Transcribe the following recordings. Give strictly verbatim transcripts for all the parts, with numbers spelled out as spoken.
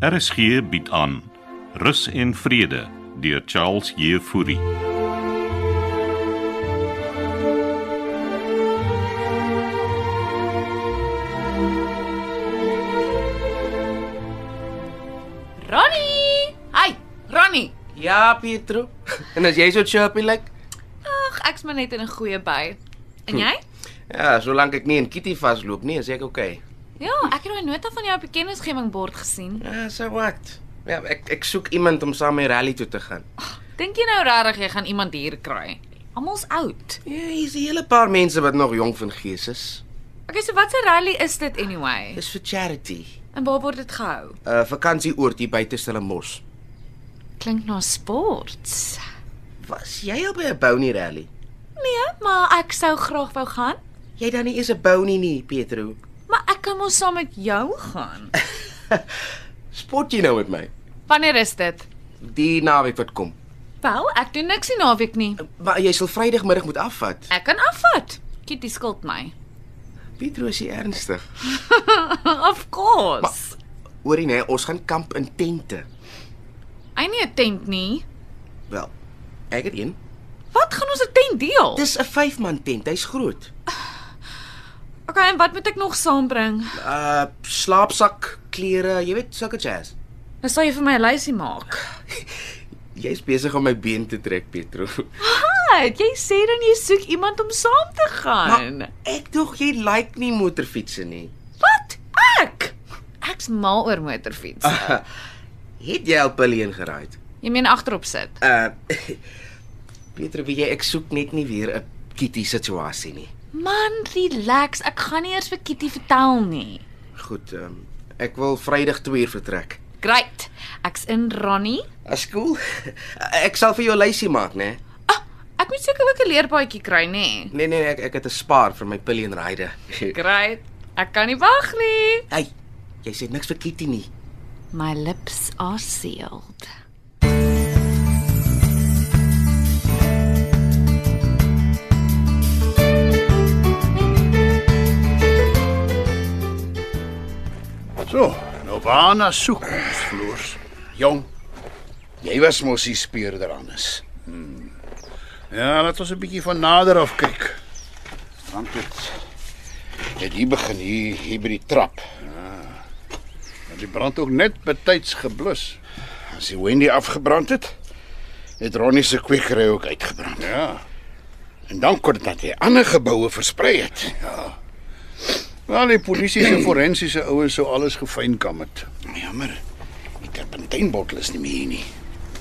R S G bied aan Rus en Vrede deur Charles Jefouri. Ronnie! Hi, Ronnie! Ja, Pietro. En as jy so chirpy lyk? Ag, ek's maar net in 'n goeie bui. En jy? Ja, solank ek nie in Kitty vasloop nie, is ek okay. Ja, ek het daai nota van jou op die kennisgemingbord gesien. Ja, so wat? Ja, ek ek soek iemand om saam met my rally toe te gaan. Dink jy nou regtig jy gaan iemand hier kry? Almal's oud. Ja, hier's 'n hele paar mense wat nog jong van gees is. Okay, so wat 'n rally is dit anyway? Dis vir charity. En waar word dit gehou? 'n uh, Vakansieoord hier buite Stellenbosch. Klink na sports. Was jy al by 'n Bounty rally? Nee, maar ek sou graag wou gaan. Jy dan nie eens 'n Bounty nie, Pietro. Maar ek kan mos saam met jou gaan. Spot jy nou met my? Wanneer is dit? Die naweek wat kom. Wel, ek doen niks die naweek nie. Maar jy sal Vrydagmiddag moet afvat. Ek kan afvat. Kitty skuld my. Pietro, is jy ernstig? Of course. Hoorie nee, ons gaan kamp in tente. Hy nie 'n tent nie. Wel, ek het een. Wat gaan ons 'n tent deel? Dis 'n vyf man tent, hy's groot. Okay, en wat moet ek nog saambring? Uh slaapsak, klere, jy weet, sulke jazz. Dan sal jy vir my 'n lysie maak. Jy's besig om my been te trek, Pietro. Wat? Jy sê dan jy soek iemand om saam te gaan. Maar ek dog jy like nie motorfietsse nie. Wat? Ek? Ek's mal oor motorfiets. Uh, het jy al Pillion geraai? Jy meen agterop sit? Uh Pietro, weet jy, ek soek net nie weer 'n Kitty situasie nie. Man, relax. Ek gaan nie eers vir Kitty vertel nie. Goed, um, ek wil Vrydag twee uur vertrek. Great. Ek's in Ronnie. As cool. Ek sal vir jou 'n lysie maak, né? Ah, ek moet seker ook 'n leerpaadjie kry, nê? Nee nee, ek ek het 'n spaar vir my Pillion ride. Great. Ek kan nie wag nie. Hey, jy sê niks vir Kitty nie. My lips are sealed. So, nou waarna soek ons, Floors? Jong, jy was mos die speurder anders. Hmm. Ja, laat ons 'n bietjie van nader af kyk. Want dit het hier begin hier, hier by die trap. Ja. Die brand ook net betyds geblus. As die Wendy afgebrand het, het Ronnie se kwekery ook uitgebrand. Ja. En dan kon dit dat hy ander geboue versprei het. Ja. Wel, die polisie se forensiese ouens sou alles gefynkam het. Jammer, die terpentynbottel is nie meer hier nie.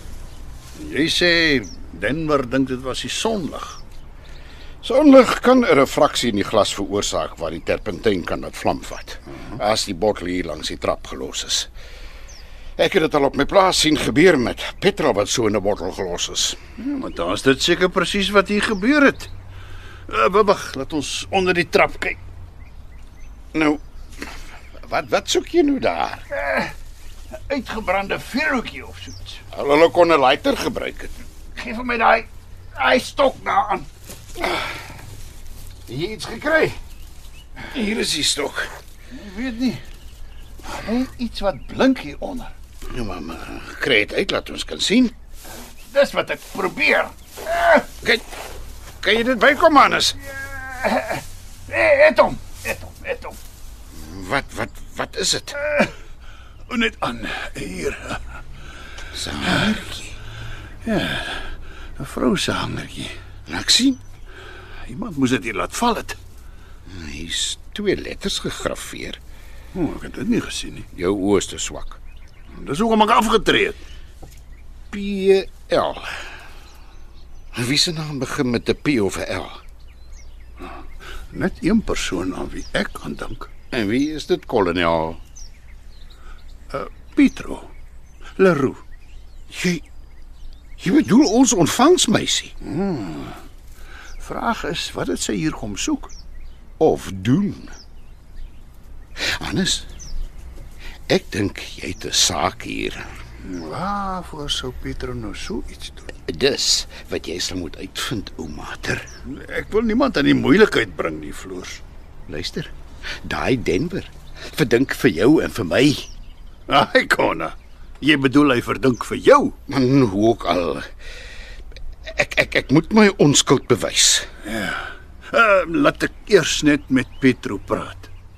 Jy sê Denver dink dit was die sonlig. Sonlig kan 'n refraksie in die glas veroorsaak waar die terpentyn kan laat vlam vat. Uh-huh. As die bottel hier langs die trap gelos is. Ek het dit al op my plaas sien gebeur met petrol wat so in 'n bottel gelos is. Ja, maar dan is dit seker presies wat hier gebeur het. Uh, Wag, laat ons onder die trap kyk. Nou, wat wat soek jy nou daar? Uh, uitgebrande vuurhoutjie of so iets. Hulle kon 'n lighter gebruik het. Geef vir my daai daai stok daaraan. Het jy iets gekry? Hier is die stok. Ek weet nie. Net iets wat blink hier onder. Nou maar, maar kry dit uit, laat ons kan sien. Dis wat ek probeer. Kyk, kan jy dit bykom, Hannes? Het hom, het hom, het hom. Wat, wat, wat is dit? Uh, net aan, hier. Sy hangertjie. Ja, 'n vrou se hangertjie. Laat ek sien. Iemand moes dit hier laat val het. Hier's twee letters gegraveer. Oh, ek het dit nie gesien nie. Jou oë is te swak. Dis hoekom ek afgetree het. P L. Wie se naam begin met 'n P of 'n L? Net een persoon aan wie ek kan dink. En wie is dit, kolonel? Uh, Pietro Leroux. Jy Jy bedoel ons ontvangsmeisie? Hmm. Vraag is, wat het sy hier kom soek? Of doen? Hannes, ek dink jy het 'n saak hier. Waarvoor sou Pietro nou so iets doen? Dis wat jy sal moet uitvind, ou mater. Ek wil niemand aan die moeilikheid bring nie, Floors. Luister, daai Denver verdink vir jou en vir my. Ai, Konna. Jy bedoel hy verdink vir jou? Man, hoe ook al. Ek ek ek moet my onskuld bewys. Uh, laat ek eers net met Pietro praat.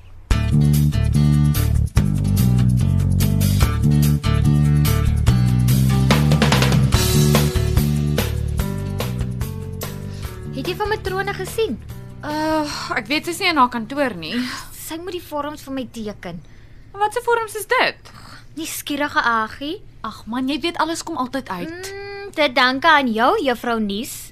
Het jy van matrone gesien? Uh, ek weet sy's nie in haar kantoor nie. Sy moet die vorms vir my teken. Wat se vorms is dit? Nie skierige Agie. Ag man, jy weet alles kom altyd uit. Mm, dit danke aan jou, juffrou Nies.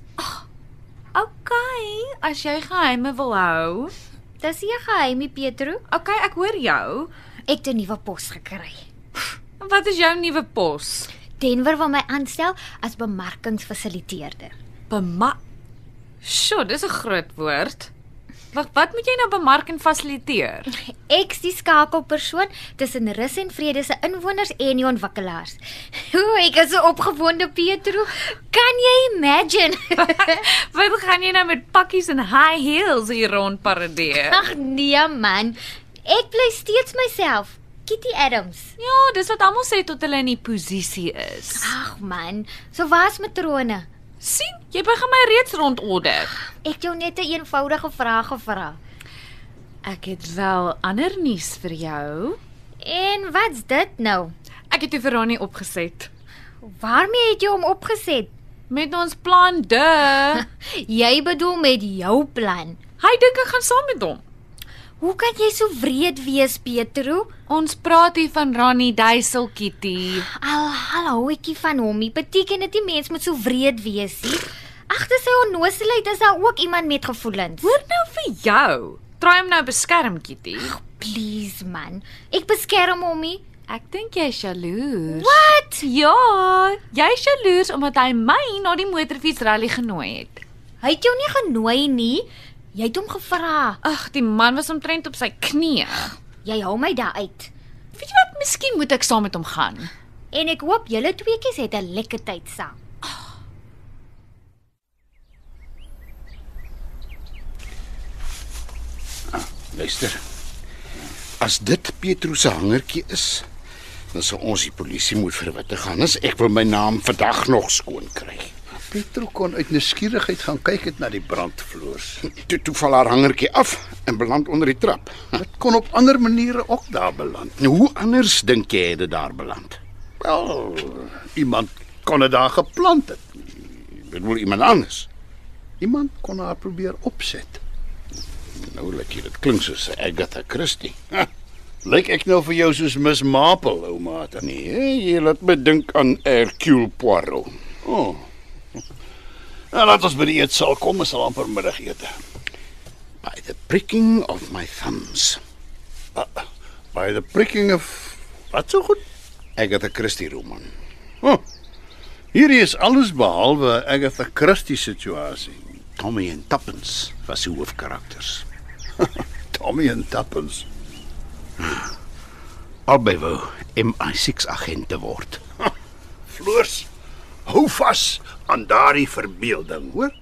Okay, as jy geheime wil hou. Dis nie 'n geheimie, Pietro. Okay, ek hoor jou. Ek het 'n nuwe pos gekry. Wat is jou nuwe pos? Denver wil my aanstel as bemarkingsfasiliteerder. Bema... Sjoe, dis 'n groot woord. Wag, wat moet jy nou bemark en fasiliteer? Ek's die skakelpersoon tussen Rus en Vrede se inwoners en die ontwikkelaars. O, ek is so opgewonde, Pietro. Kan jy imagine? Wat gaan jy nou met pakkies en high heels hier rond paradeer? Ag nee man, ek bly steeds myself. Kitty Adams. Ja, dis wat almal sê tot hulle in die posisie is. Ag man, so waar's matrone? Sien, jy begin my reeds rondorder. Ek het jou net 'n eenvoudige vraag gevra. Ek het wel ander nuus vir jou. En wat's dit nou? Ek het vir Ronnie opgeset. Waarmee het jy hom opgeset? Met ons plan, de. Jy bedoel met jou plan. Hy dink ek gaan saam met hom. Hoe kan jy so wreed wees, Pietro? Ons praat hier van Ronnie Duisel, Kitty. Al hallo ekie van hom, nie beteken dit die mens moet so wreed wees nie. Agter sy onnoosheid is daar ook iemand met gevoelens. Hoor nou vir jou. Try hom nou beskerm, Kitty. Please man, ek beskerm hom nie. Ek dink jy is jaloers. Wat? Ja, jy is jaloers omdat hy my na die motorfietsrally genooi het. Hy het jou nie genooi nie. Jy het hom gevra. Ag, die man was omtrent op sy knieë. Jy hou my daar uit. Weet jy wat, miskien moet ek saam met hom gaan. En ek hoop julle tweeetjies het 'n lekker tyd saam. Luister. As dit Pietro se hangertjie is, dan sal ons die polisie moet verwittig gaan. As ek wil my naam vandag nog skoon kry. Pietro kon uit nuuskierigheid gaan kyk het na die brandvloers. Toe toe val haar hangertjie af en beland onder die trap. Dit kon op ander maniere ook daar beland. Nou, hoe anders dink jy het dit daar beland? Wel, iemand kon dit daar geplant het. Ek bedoel iemand anders. Iemand kon haar probeer opset. Nou, like jy, dit klink soos Agatha Christie. Ha, Lyk ek nou vir jou soos Miss Marple, ou maat? nee, jy laat my dink aan Hercule Poirot. Oh. Nou, laat ons by die eetsaal kom, ons sal amper middagete. By the pricking of my thumbs. Uh, by the pricking of... Wat so goed? Agatha Christie roman. Oh, hierdie is alles behalwe Agatha Christie situasie. Tommy en Tuppence was die hoofkarakters. Tommy en Tuppence. Albei wou M I six agente word. Floors, hou vas aan daardie verbeelding, hoor?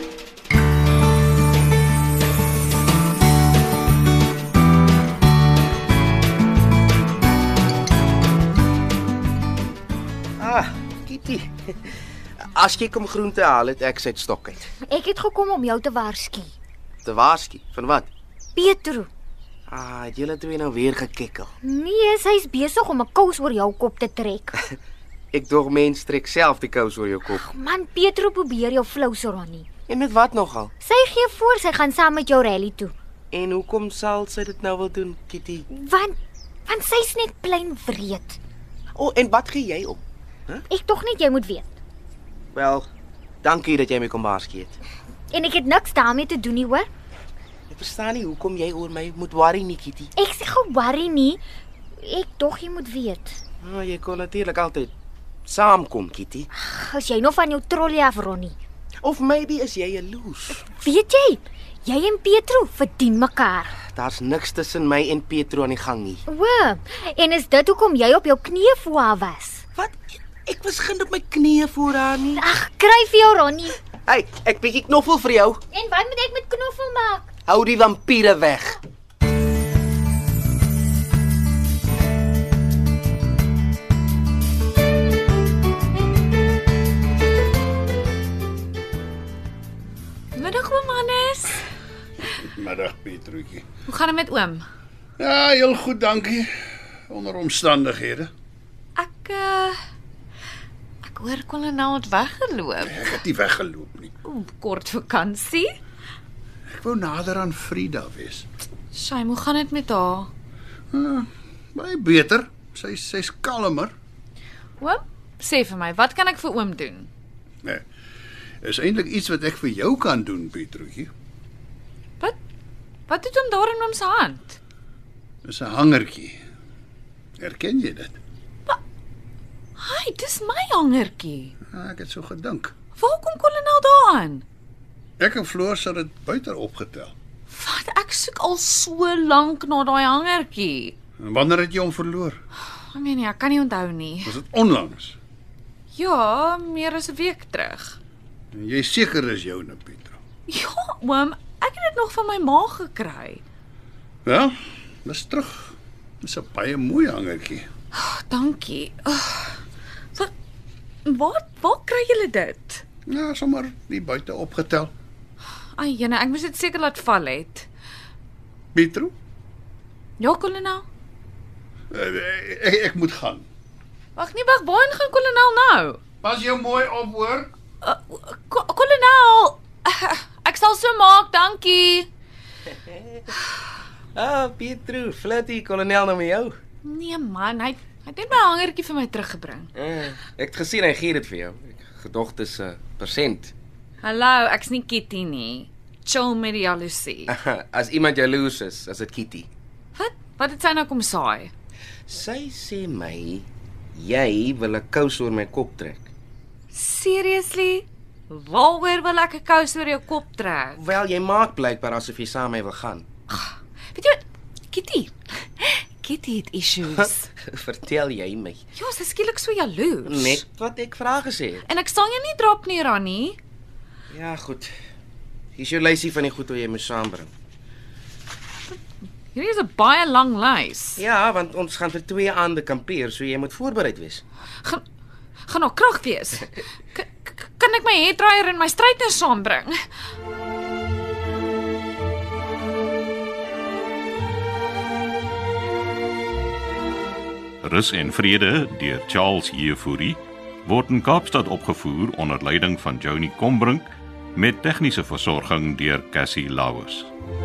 Ah, Kitty. As jy kom groente haal, het ek sy stok uit. Ek het gekom om jou te waarsku. Te waarsku, van wat? Pietro. Ah, het julle twee nou weer gekekkel. Nee, sy's besig om 'n kous oor jou kop te trek. Ek dog mens trek self die kous oor jou kop. Man, Pietro probeer jou flous Ronnie. En met wat nogal? Sy gee voor sy gaan saam met jou rally toe. En hoekom sal sy dit nou wil doen, Kitty? Want want sy's net plain wreed. O, oh, en wat gee jy om? Ek tog net jy moet weet. Wel, dankie dat jy my kom waarsku het. En ek het niks daarmee te doen nie, hoor. Ek verstaan nie hoekom jy oor my moet worry nie, Kitty. Ek sê ge-worry nie. Ek tog jy moet weet. Nou, jy kon natuurlik altyd saamkom, Kitty. As jy nog van jou trollie af, Ronnie. Of maybe is jy jaloers. Weet jy, jy en Pietro verdien mekaar. Daar's niks tussen my en Pietro aan die gang nie. O, en is dit hoekom jy op jou knieë voor haar was? Wat? Ek was geen op my knieë voor haar nie. Ag, kry vir jou, Ronnie. Hey, ek bietjie knoffel vir jou. En wat moet ek met knoffel maak? Hou die vampiere weg. Middag, Pietruutjie. Hoe gaan dit met oom? Ja, heel goed, dankie. Onder omstandighede. Ek uh ek hoor kolonel het weggeloop. Ek het nie weggeloop nie. Oeh, kort vakansie. Ek wou nader aan Frida wees. Shame, hoe gaan dit met haar? Uh, baie beter. Sy sy's kalmer. Oom, sê vir my, wat kan ek vir oom doen? Nee. Is eintlik iets wat ek vir jou kan doen, Pietruutjie. Wat? Wat het hom daar in oom se hand? Dis 'n hangertjie. Herken jy dit? Hai, dis my hangertjie. Ja, ek het so gedink. Waar kom kolonel daaraan? Ek en Floor sal dit buite opgetel. Wat? Ek soek al so lank na daai hangertjie. En wanneer het jy hom verloor? Ek meen nie, ek kan nie onthou nie. Was dit onlangs? Ja, meer as 'n week terug. En jy seker is joune, Pietro. Ja, oom, ek het dit nog van my ma gekry. Ja, dis terug. Dis 'n baie mooi hangertjie. Oh, dankie. Oh, wat? Waar, waar kry julle dit? Ja, sommer nie buite opgetel. Ai, jene, ek moes dit seker laat val het. Pietro, Ja, kolonel? uh, ek, ek moet gaan. Wag nie, wag, waarheen gaan kolonel nou? Pas jou mooi op, hoor. Uh, ko kolonel, uh, ek sal so maak, dankie. Ah, Pietro, flirty kolonel nou met jou. Nee man, hy, hy het net my hangertjie vir my teruggebring. Uh, ek het gesien hy gee dit vir jou. Ek gedog dis 'n uh, persent. Hallo, ek's nie Kitty nie. Chill met die jaloesie. As iemand jaloers is, as dit Kitty. Wat? Wat het sy nou kom saai? Sy sê my jy wil 'n kous oor my kop trek. Seriously? Waaroor wil ek 'n kous oor jou kop trek? Wel, jy maak blykbaar asof jy saam met my wil gaan. Weet jy wat? Kitty. Kitty het issues. Vertel jy my. Ja, sy is skielik so jaloers. Net wat ek vra gesê het. En ek sal jou nie drop nie, Ronnie. Ja, goed. Hier is jou lysie van die goed wat jy moet saambring. Hierdie is 'n baie lang lys. Ja, want ons gaan vir twee aande kampeer, so jy moet voorbereid wees. Gaan gaan nog krag wees. K kan ek my hairdryer en my straightener saambring? Rus en Vrede deur Charles Jefouri word in Kaapstad opgevoer onder leiding van Johnny Combrink met tegniese versorging deur Cassie Lauers.